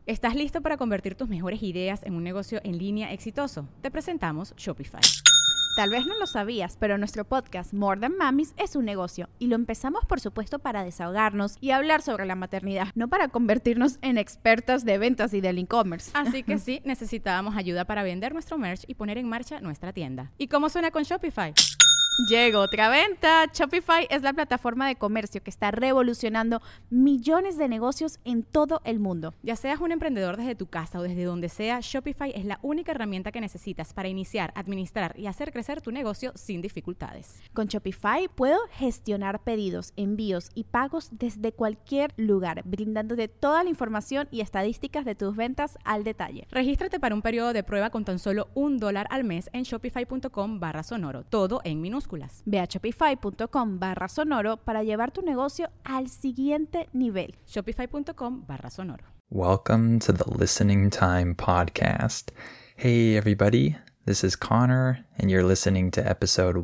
¿Estás listo para convertir tus mejores ideas en un negocio en línea exitoso? Te presentamos Shopify. Tal vez no lo sabías, pero nuestro podcast More Than Mamis es un negocio y lo empezamos por supuesto para desahogarnos y hablar sobre la maternidad, no para convertirnos en expertas de ventas y del e-commerce. Así que sí, necesitábamos ayuda para vender nuestro merch y poner en marcha nuestra tienda. ¿Y cómo suena con Shopify? Llegó otra venta. Shopify es la plataforma de comercio que está revolucionando millones de negocios en todo el mundo. Ya seas un emprendedor desde tu casa o desde donde sea, Shopify es la única herramienta que necesitas para iniciar, administrar y hacer crecer tu negocio sin dificultades. Con Shopify puedo gestionar pedidos, envíos y pagos desde cualquier lugar, brindándote toda la información y estadísticas de tus ventas al detalle. Regístrate para un periodo de prueba con tan solo $1 al mes en shopify.com/sonoro, todo en minúsculas. Ve a shopify.com/sonoro para llevar tu negocio al siguiente nivel. Shopify.com/sonoro. Welcome to the Listening Time Podcast. Hey everybody, this is Connor, and you're listening to episode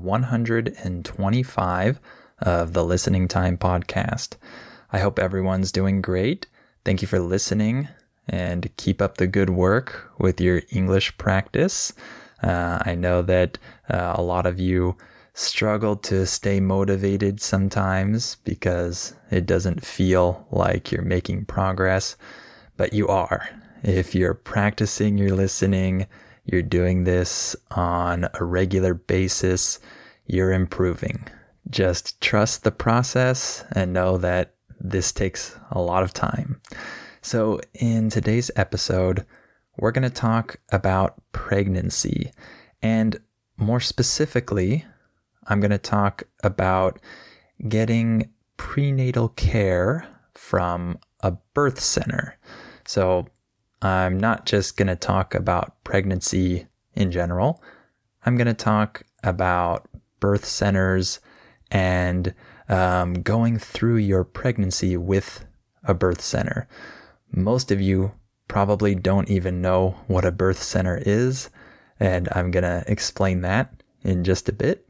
125 of the Listening Time Podcast. I hope everyone's doing great. Thank you for listening, and keep up the good work with your English practice. I know that a lot of you struggle to stay motivated sometimes because it doesn't feel like you're making progress, but you are. If you're practicing your listening, you're doing this on a regular basis, you're improving. Just trust the process and know that this takes a lot of time. So in today's episode, we're going to talk about pregnancy, and more specifically, I'm going to talk about getting prenatal care from a birth center. So I'm not just going to talk about pregnancy in general. I'm going to talk about birth centers and going through your pregnancy with a birth center. Most of you probably don't even know what a birth center is, and I'm going to explain that in just a bit.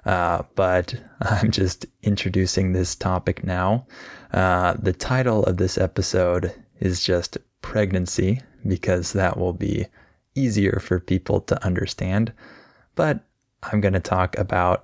But I'm just introducing this topic now. The title of this episode is just pregnancy, because that will be easier for people to understand. But I'm going to talk about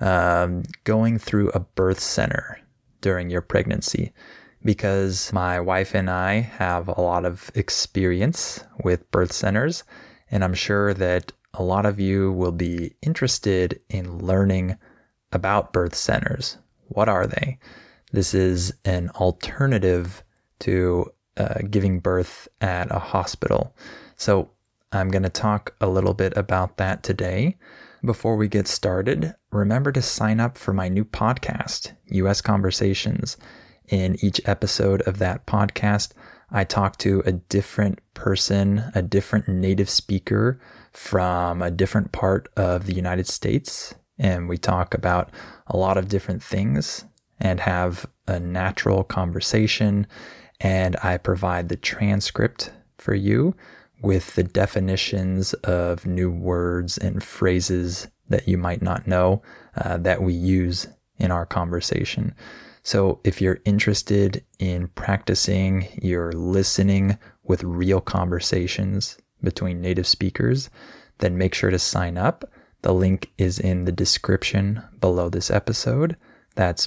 going through a birth center during your pregnancy, because my wife and I have a lot of experience with birth centers, and I'm sure that a lot of you will be interested in learning about birth centers. What are they? This is an alternative to giving birth at a hospital. So I'm going to talk a little bit about that today. Before we get started, remember to sign up for my new podcast, US Conversations. In each episode of that podcast, I talk to a different person, a different native speaker from a different part of the United States, and we talk about a lot of different things and have a natural conversation, and I provide the transcript for you with the definitions of new words and phrases that you might not know that we use in our conversation. So if you're interested in practicing your listening with real conversations between native speakers, then make sure to sign up. The link is in the description below this episode. That's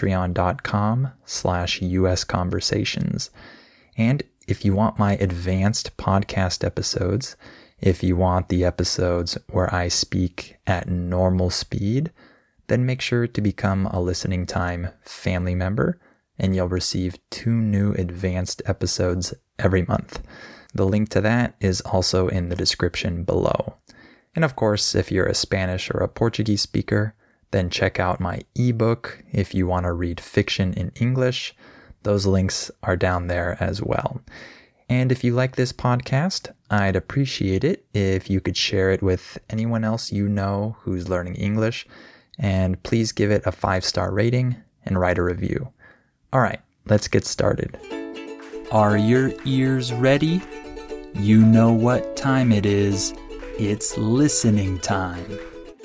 patreon.com/US Conversations. And if you want my advanced podcast episodes, if you want the episodes where I speak at normal speed, then make sure to become a Listening Time family member, and you'll receive 2 new advanced episodes every month. The link to that is also in the description below. And of course, if you're a Spanish or a Portuguese speaker, then check out my ebook if you want to read fiction in English. Those links are down there as well. And if you like this podcast, I'd appreciate it if you could share it with anyone else you know who's learning English, and please give it a 5-star rating and write a review. All right, let's get started. Are your ears ready? You know what time it is. It's listening time.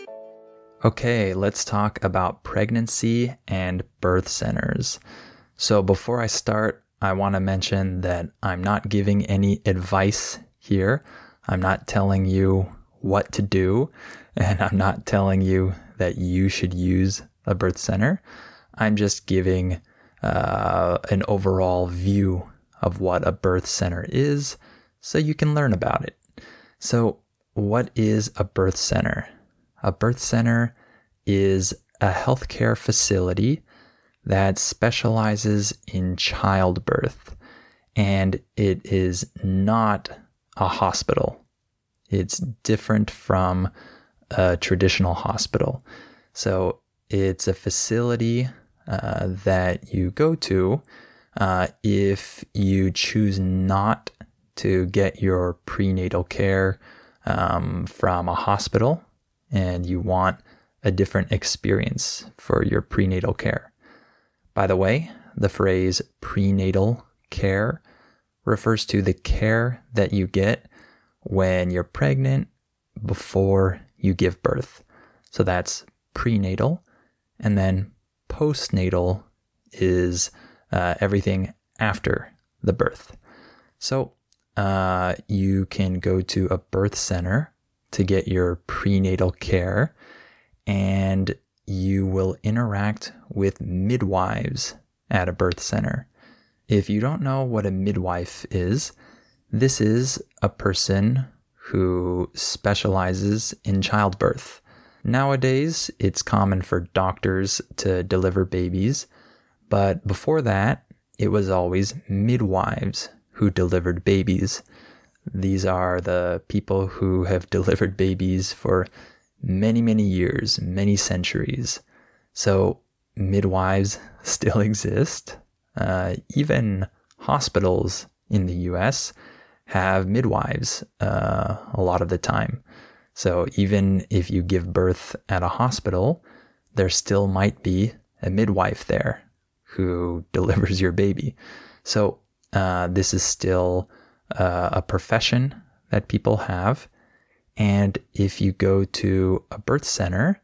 Okay, let's talk about pregnancy and birth centers. So before I start, I want to mention that I'm not giving any advice here. I'm not telling you what to do, and I'm not telling you that you should use a birth center. I'm just giving an overall view of what a birth center is so you can learn about it. So what is a birth center? A birth center is a healthcare facility that specializes in childbirth, and it is not a hospital. It's different from a traditional hospital. So it's a facility that you go to if you choose not to get your prenatal care from a hospital and you want a different experience for your prenatal care. By the way, the phrase prenatal care refers to the care that you get when you're pregnant before you give birth. So that's prenatal. And then postnatal is everything after the birth. So you can go to a birth center to get your prenatal care, and you will interact with midwives at a birth center. If you don't know what a midwife is, this is a person who specializes in childbirth. Nowadays, it's common for doctors to deliver babies, but before that, it was always midwives who delivered babies. These are the people who have delivered babies for many, many years, many centuries. So midwives still exist. Even hospitals in the US have midwives a lot of the time. So even if you give birth at a hospital, there still might be a midwife there who delivers your baby. So this is still a profession that people have. And if you go to a birth center,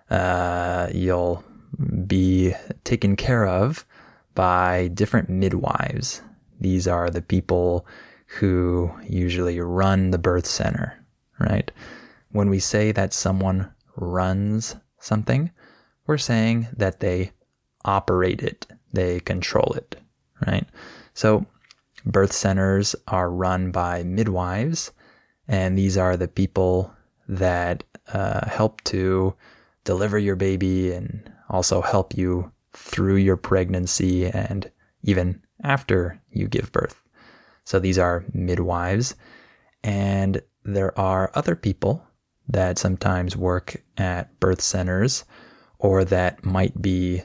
you'll be taken care of by different midwives. These are the people who usually run the birth center, right? When we say that someone runs something, we're saying that they operate it, they control it, right? So birth centers are run by midwives, and these are the people that help to deliver your baby and also help you through your pregnancy and even after you give birth. So these are midwives. And there are other people that sometimes work at birth centers or that might be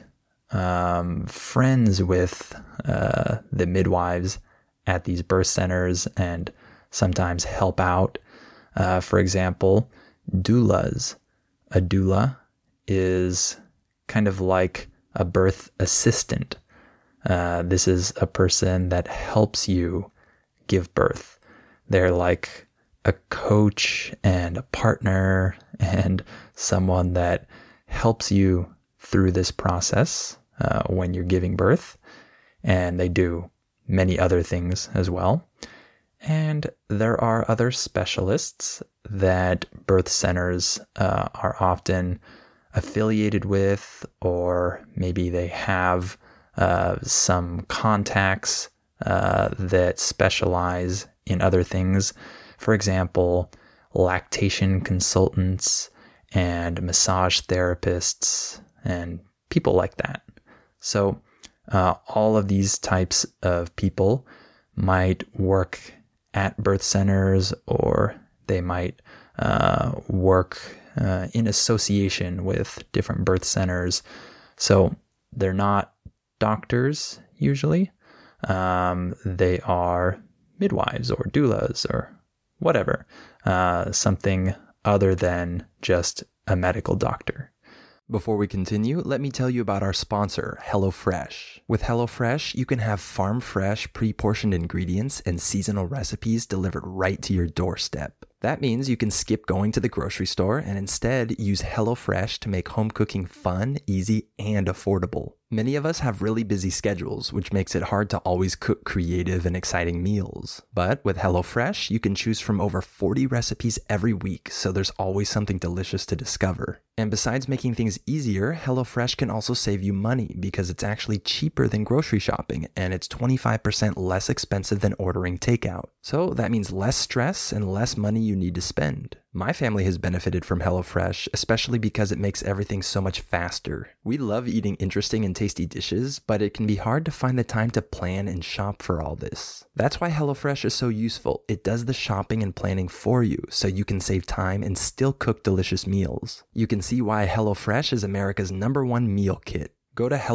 friends with the midwives at these birth centers and sometimes help out. For example, doulas. A doula is kind of like a birth assistant. This is a person that helps you give birth. They're like a coach and a partner and someone that helps you through this process when you're giving birth. And they do many other things as well. And there are other specialists that birth centers are often affiliated with, or maybe they have some contacts that specialize in other things. For example, lactation consultants and massage therapists and people like that. So all of these types of people might work at birth centers, or they might work in association with different birth centers. So they're not doctors usually. They are midwives or doulas or whatever, something other than just a medical doctor. Before we continue, let me tell you about our sponsor, HelloFresh. With HelloFresh, you can have farm-fresh, pre-portioned ingredients and seasonal recipes delivered right to your doorstep. That means you can skip going to the grocery store and instead use HelloFresh to make home cooking fun, easy, and affordable. Many of us have really busy schedules, which makes it hard to always cook creative and exciting meals. But with HelloFresh, you can choose from over 40 recipes every week, so there's always something delicious to discover. And besides making things easier, HelloFresh can also save you money because it's actually cheaper than grocery shopping, and it's 25% less expensive than ordering takeout. So that means less stress and less money you need to spend. My family has benefited from HelloFresh, especially because it makes everything so much faster. We love eating interesting and tasty dishes, but it can be hard to find the time to plan and shop for all this. That's why HelloFresh is so useful. It does the shopping and planning for you, so you can save time and still cook delicious meals. You can see why HelloFresh is America's #1 meal kit. Go to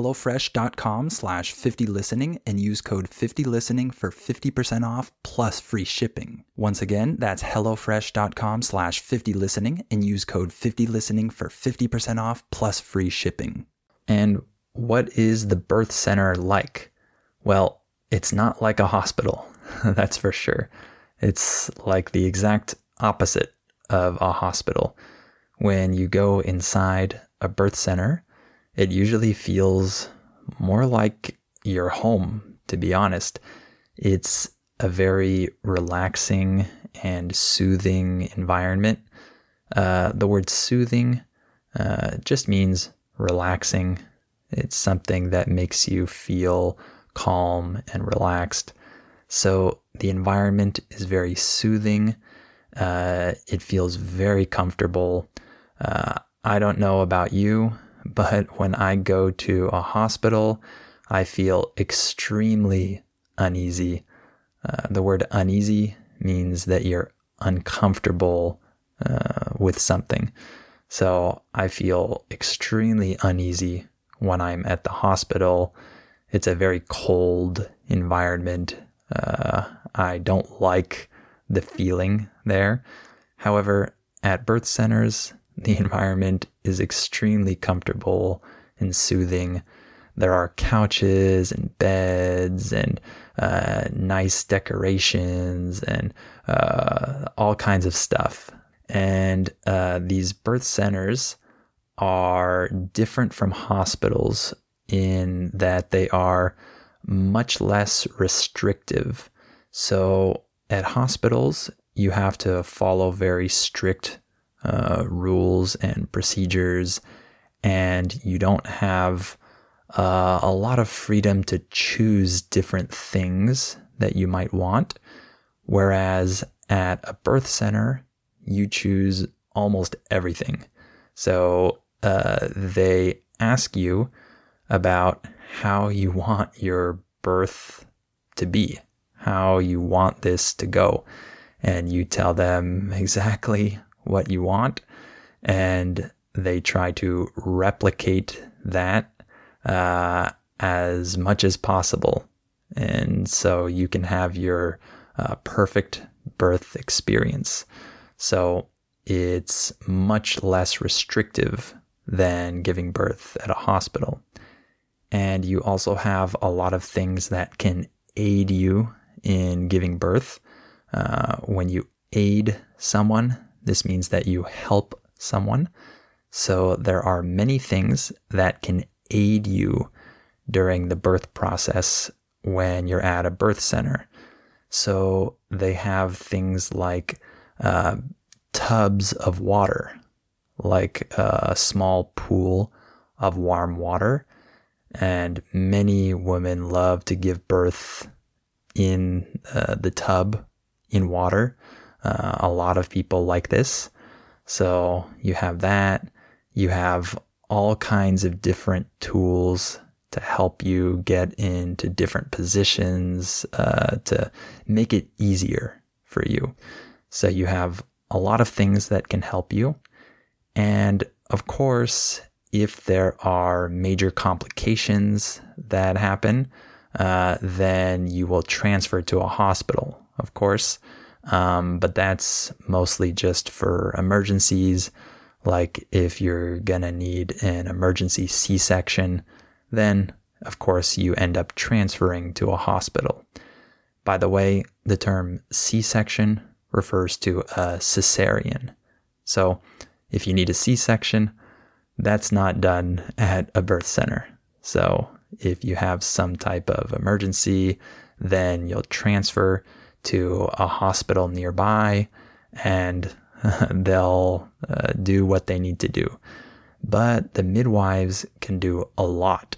HelloFresh.com/50listening and use code 50listening for 50% off plus free shipping. Once again, that's HelloFresh.com/50listening and use code 50listening for 50% off plus free shipping. And what is the birth center like? Well, it's not like a hospital, that's for sure. It's like the exact opposite of a hospital. When you go inside a birth center, it usually feels more like your home, to be honest. It's a very relaxing and soothing environment. The word soothing just means relaxing. It's something that makes you feel calm and relaxed. So the environment is very soothing. It feels very comfortable. I don't know about you, but when I go to a hospital, I feel extremely uneasy. The word uneasy means that you're uncomfortable with something. So I feel extremely uneasy when I'm at the hospital. It's a very cold environment. I don't like the feeling there. However, at birth centers, the environment is extremely comfortable and soothing. There are couches and beds and nice decorations and all kinds of stuff. And these birth centers are different from hospitals in that they are much less restrictive. So at hospitals, you have to follow very strict rules and procedures, and you don't have a lot of freedom to choose different things that you might want. Whereas at a birth center, you choose almost everything. So they ask you about how you want your birth to be, how you want this to go. And you tell them exactly what you want, and they try to replicate that as much as possible. And so you can have your perfect birth experience. So it's much less restrictive than giving birth at a hospital. And you also have a lot of things that can aid you in giving birth. When you aid someone, this means that you help someone. So there are many things that can aid you during the birth process when you're at a birth center. So they have things like tubs of water, like a small pool of warm water. And many women love to give birth in the tub in water. A lot of people like this. So you have that. You have all kinds of different tools to help you get into different positions to make it easier for you. So you have a lot of things that can help you. And of course, if there are major complications that happen, then you will transfer to a hospital, of course. But that's mostly just for emergencies. Like if you're gonna need an emergency C-section, then of course you end up transferring to a hospital. By the way, the term C-section refers to a cesarean. So if you need a C-section, that's not done at a birth center. So if you have some type of emergency, then you'll transfer to a hospital nearby and they'll do what they need to do. But the midwives can do a lot.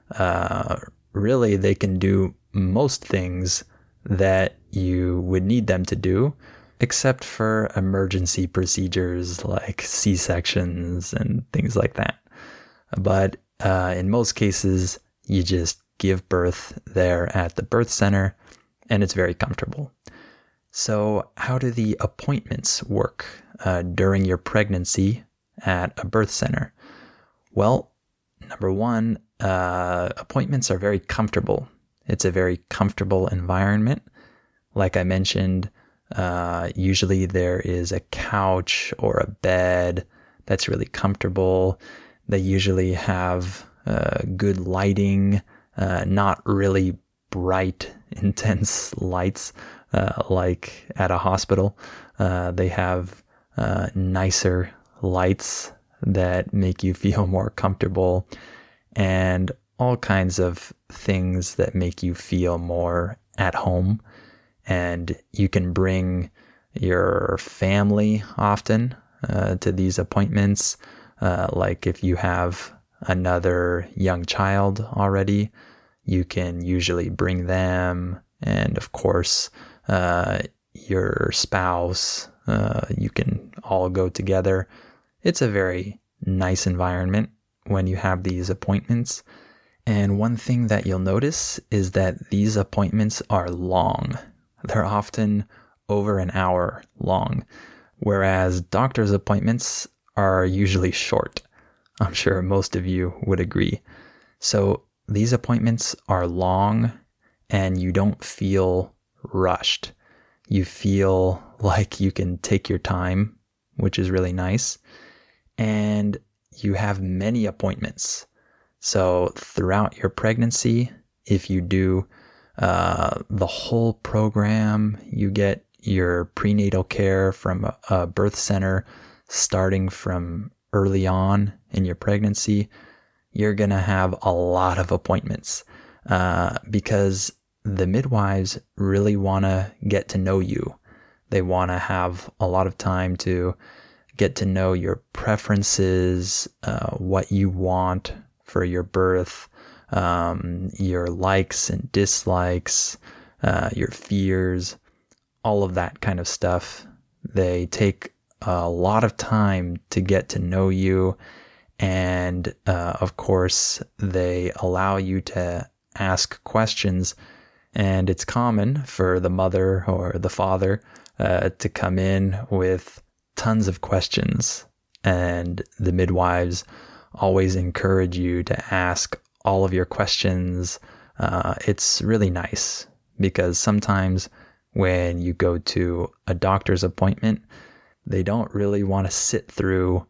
Really, they can do most things that you would need them to do, except for emergency procedures like C-sections and things like that. But in most cases, you just give birth there at the birth center, and it's very comfortable. So how do the appointments work during your pregnancy at a birth center? Well, number one, appointments are very comfortable. It's a very comfortable environment. Like I mentioned, usually there is a couch or a bed that's really comfortable. They usually have good lighting, not really bright, intense lights like at a hospital. They have nicer lights that make you feel more comfortable, and all kinds of things that make you feel more at home. And you can bring your family often to these appointments. Like if you have another young child already, you can usually bring them. And of course, your spouse, you can all go together. It's a very nice environment when you have these appointments. And one thing that you'll notice is that these appointments are long. They're often over an hour long, whereas doctor's appointments are usually short. I'm sure most of you would agree. So these appointments are long and you don't feel rushed. You feel like you can take your time, which is really nice. And you have many appointments. So throughout your pregnancy, if you do the whole program, you get your prenatal care from a birth center starting from early on in your pregnancy, you're going to have a lot of appointments because the midwives really want to get to know you. They want to have a lot of time to get to know your preferences, what you want for your birth, your likes and dislikes, your fears, all of that kind of stuff. They take a lot of time to get to know you. And of course, they allow you to ask questions. And it's common for the mother or the father to come in with tons of questions. And the midwives always encourage you to ask all of your questions. It's really nice because sometimes when you go to a doctor's appointment, they don't really want to sit through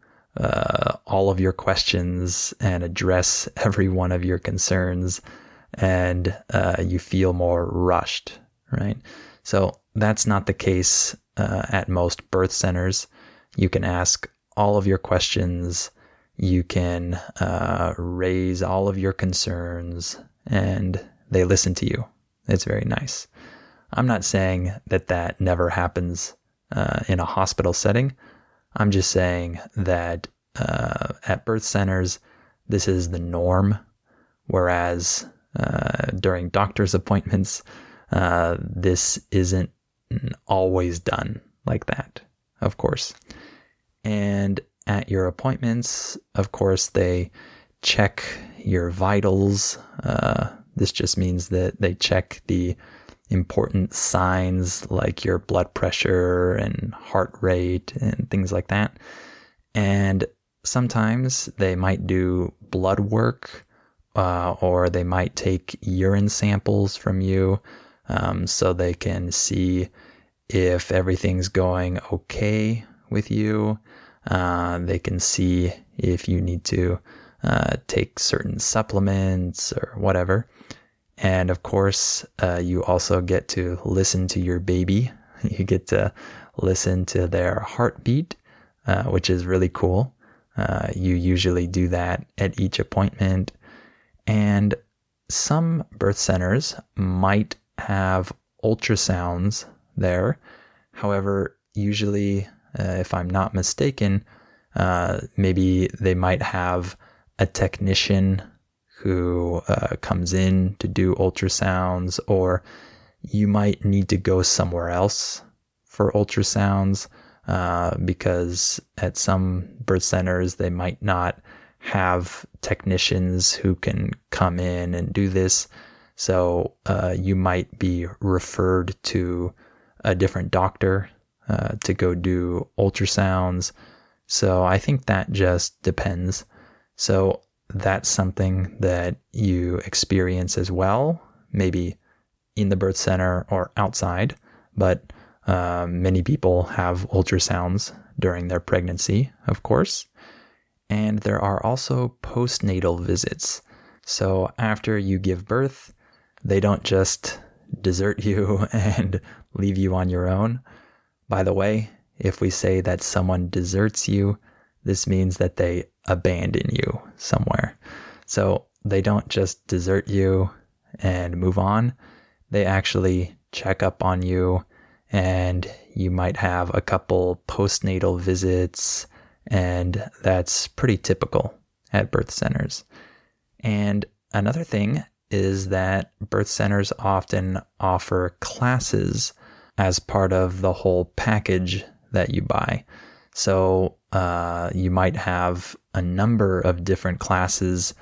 all of your questions and address every one of your concerns, and you feel more rushed, right? So that's not the case at most birth centers. You can ask all of your questions. You can raise all of your concerns, and they listen to you. It's very nice. I'm not saying that that never happens in a hospital setting. I'm just saying that at birth centers, this is the norm, whereas during doctor's appointments, this isn't always done like that, of course. And at your appointments, of course, they check your vitals. This just means that they check the important signs like your blood pressure and heart rate and things like that. And sometimes they might do blood work, or they might take urine samples from you so they can see if everything's going okay with you. They can see if you need to take certain supplements or whatever. And of course, you also get to listen to your baby. You get to listen to their heartbeat, which is really cool. You usually do that at each appointment. And some birth centers might have ultrasounds there. However, usually, if I'm not mistaken, maybe they might have a technician who comes in to do ultrasounds, or you might need to go somewhere else for ultrasounds because at some birth centers they might not have technicians who can come in and do this. So you might be referred to a different doctor to go do ultrasounds. So I think that just depends. So that's something that you experience as well, maybe in the birth center or outside, but many people have ultrasounds during their pregnancy, of course. And there are also postnatal visits. So after you give birth, they don't just desert you and leave you on your own. By the way, if we say that someone deserts you, this means that they abandon you somewhere. So they don't just desert you and move on. They actually check up on you, and you might have a couple postnatal visits, and that's pretty typical at birth centers. And another thing is that birth centers often offer classes as part of the whole package that you buy. So you might have a number of different classes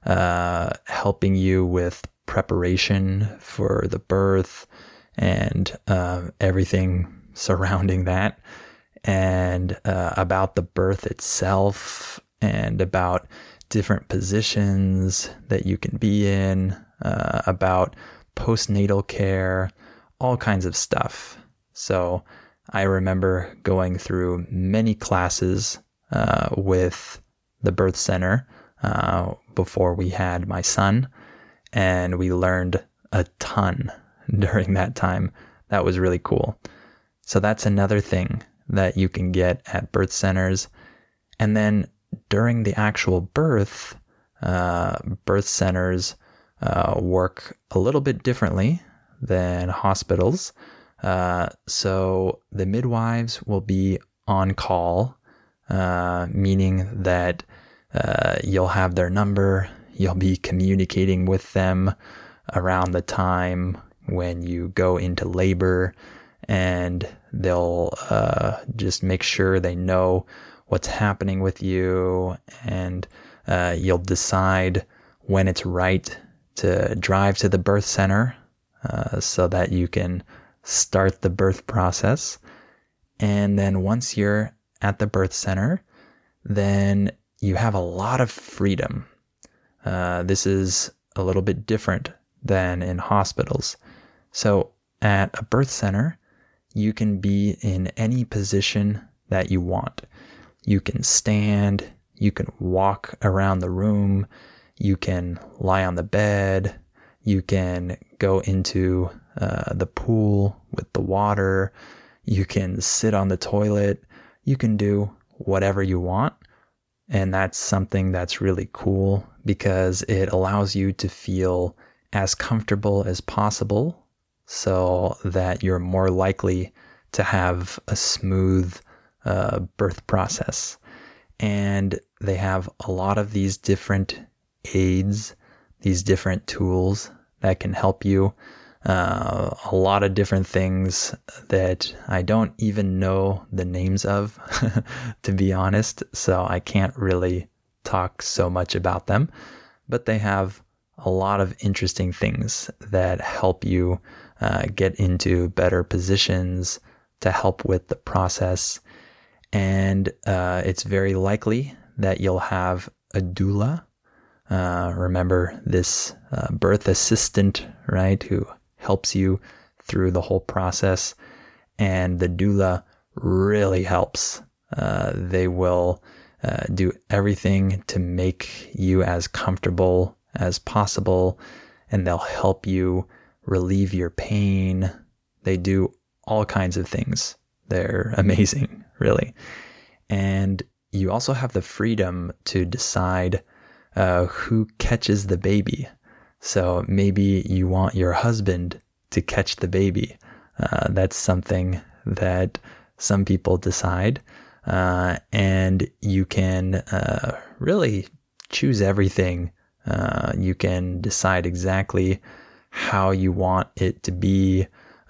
helping you with preparation for the birth and everything surrounding that, and about the birth itself, and about different positions that you can be in, about postnatal care, all kinds of stuff. So I remember going through many classes with the birth center before we had my son, and we learned a ton during that time. That was really cool. So that's another thing that you can get at birth centers. And then during the actual birth, birth centers work a little bit differently than hospitals. So the midwives will be on call, meaning that you'll have their number, you'll be communicating with them around the time when you go into labor, and they'll just make sure they know what's happening with you, and you'll decide when it's right to drive to the birth center so that you can start the birth process. And then once you're at the birth center, then you have a lot of freedom. This is a little bit different than in hospitals. So at a birth center, you can be in any position that you want. You can stand, you can walk around the room, you can lie on the bed, you can go into the pool with the water, you can sit on the toilet, you can do whatever you want. And that's something that's really cool because it allows you to feel as comfortable as possible so that you're more likely to have a smooth birth process. And they have a lot of these different aids, these different tools that can help you. A lot of different things that I don't even know the names of, to be honest. So I can't really talk so much about them. But they have a lot of interesting things that help you get into better positions to help with the process. And it's very likely that you'll have a doula. Remember this birth assistant, right, who helps you through the whole process. And the doula really helps. They will do everything to make you as comfortable as possible, and they'll help you relieve your pain. They do all kinds of things. They're amazing, really. And you also have the freedom to decide who catches the baby. So maybe you want your husband to catch the baby. That's something that some people decide. And you can really choose everything. You can decide exactly how you want it to be.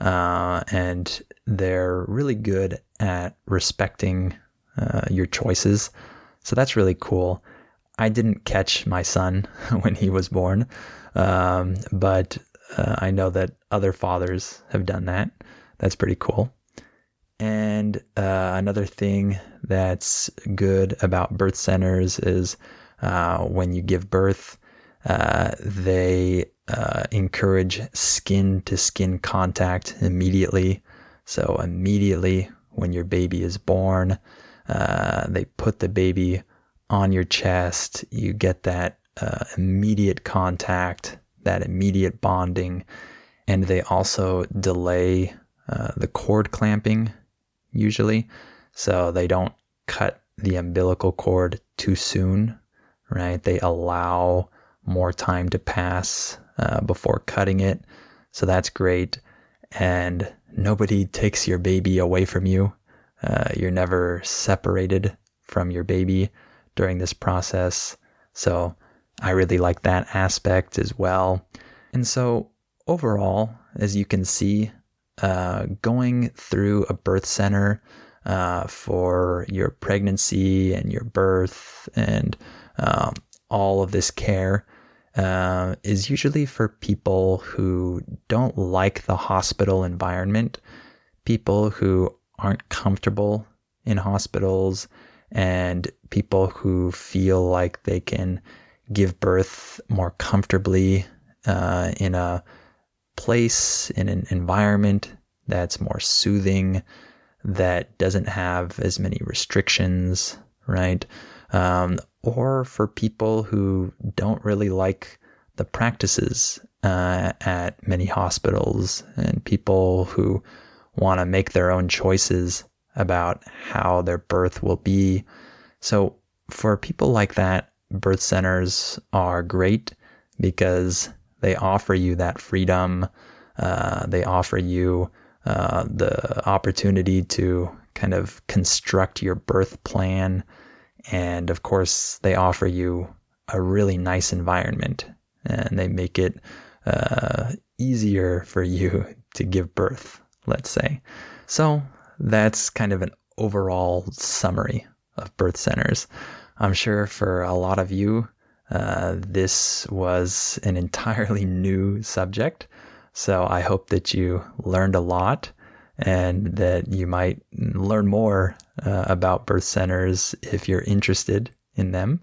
And they're really good at respecting your choices. So that's really cool. I didn't catch my son when he was born, but I know that other fathers have done that. That's pretty cool. And another thing that's good about birth centers is when you give birth, they encourage skin-to-skin contact immediately. So immediately when your baby is born, they put the baby on your chest. You get that immediate contact, that immediate bonding, and they also delay the cord clamping usually, so they don't cut the umbilical cord too soon, right? They allow more time to pass before cutting it, so that's great. And nobody takes your baby away from you. You're never separated from your baby during this process, so I really like that aspect as well. And so overall, as you can see, going through a birth center for your pregnancy and your birth and all of this care is usually for people who don't like the hospital environment, people who aren't comfortable in hospitals, and people who feel like they can give birth more comfortably in a place, in an environment that's more soothing, that doesn't have as many restrictions, right? Or for people who don't really like the practices at many hospitals, and people who want to make their own choices about how their birth will be. So for people like that, birth centers are great because they offer you that freedom. They offer you the opportunity to kind of construct your birth plan. And of course, they offer you a really nice environment, and they make it easier for you to give birth, let's say. So that's kind of an overall summary of birth centers. I'm sure for a lot of you, this was an entirely new subject. So I hope that you learned a lot and that you might learn more about birth centers if you're interested in them.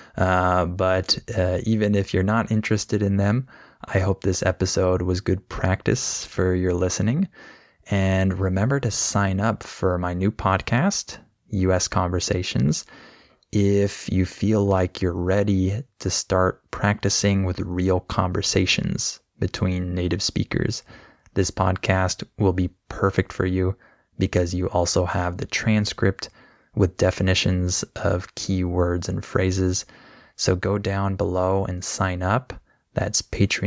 But even if you're not interested in them, I hope this episode was good practice for your listening. And remember to sign up for my new podcast, US Conversations, if you feel like you're ready to start practicing with real conversations between native speakers. This podcast will be perfect for you because you also have the transcript with definitions of key words and phrases. So go down below and sign up. That's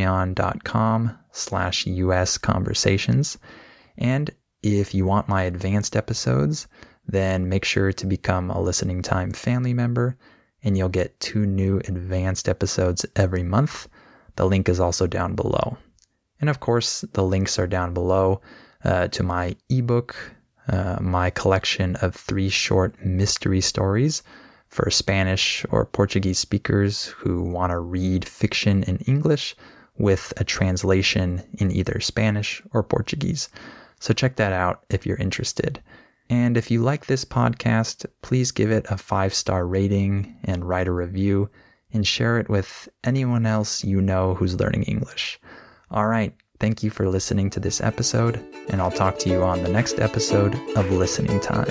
patreon.com/US Conversations. And if you want my advanced episodes, then make sure to become a Listening Time family member, and you'll get 2 new advanced episodes every month. The link is also down below. And of course, the links are down below to my ebook, my collection of 3 short mystery stories for Spanish or Portuguese speakers who want to read fiction in English with a translation in either Spanish or Portuguese. So check that out if you're interested. And if you like this podcast, please give it a 5-star rating and write a review and share it with anyone else you know who's learning English. All right, thank you for listening to this episode, and I'll talk to you on the next episode of Listening Time.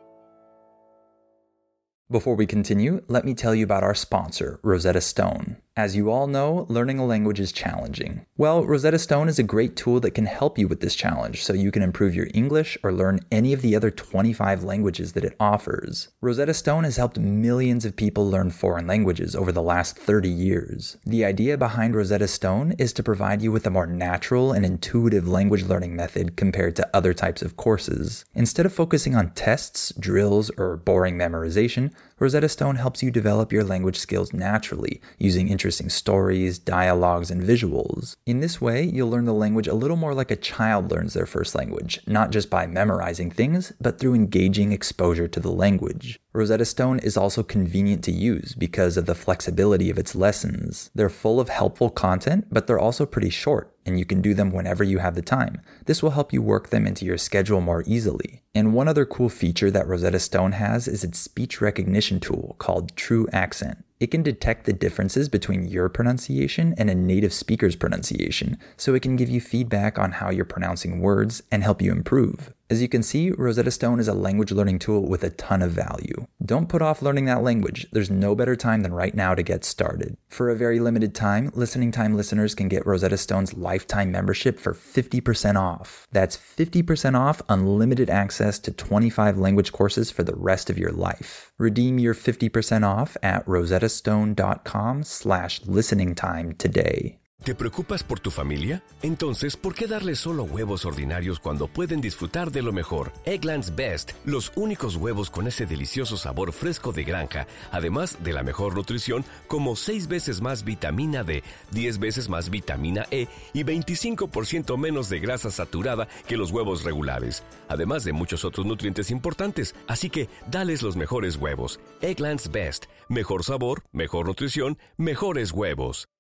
Before we continue, let me tell you about our sponsor, Rosetta Stone. As you all know, learning a language is challenging. Well, Rosetta Stone is a great tool that can help you with this challenge so you can improve your English or learn any of the other 25 languages that it offers. Rosetta Stone has helped millions of people learn foreign languages over the last 30 years. The idea behind Rosetta Stone is to provide you with a more natural and intuitive language learning method compared to other types of courses. Instead of focusing on tests, drills, or boring memorization, Rosetta Stone helps you develop your language skills naturally, using interesting stories, dialogues, and visuals. In this way, you'll learn the language a little more like a child learns their first language, not just by memorizing things, but through engaging exposure to the language. Rosetta Stone is also convenient to use because of the flexibility of its lessons. They're full of helpful content, but they're also pretty short, and you can do them whenever you have the time. This will help you work them into your schedule more easily. And one other cool feature that Rosetta Stone has is its speech recognition tool called True Accent. It can detect the differences between your pronunciation and a native speaker's pronunciation, so it can give you feedback on how you're pronouncing words and help you improve. As you can see, Rosetta Stone is a language learning tool with a ton of value. Don't put off learning that language. There's no better time than right now to get started. For a very limited time, Listening Time listeners can get Rosetta Stone's lifetime membership for 50% off. That's 50% off unlimited access to 25 language courses for the rest of your life. Redeem your 50% off at rosettastone.com/listeningtime today. ¿Te preocupas por tu familia? Entonces, ¿por qué darles solo huevos ordinarios cuando pueden disfrutar de lo mejor? Eggland's Best, los únicos huevos con ese delicioso sabor fresco de granja, además de la mejor nutrición, como 6 veces más vitamina D, 10 veces más vitamina E y 25% menos de grasa saturada que los huevos regulares, además de muchos otros nutrientes importantes. Así que, dales los mejores huevos. Eggland's Best, mejor sabor, mejor nutrición, mejores huevos.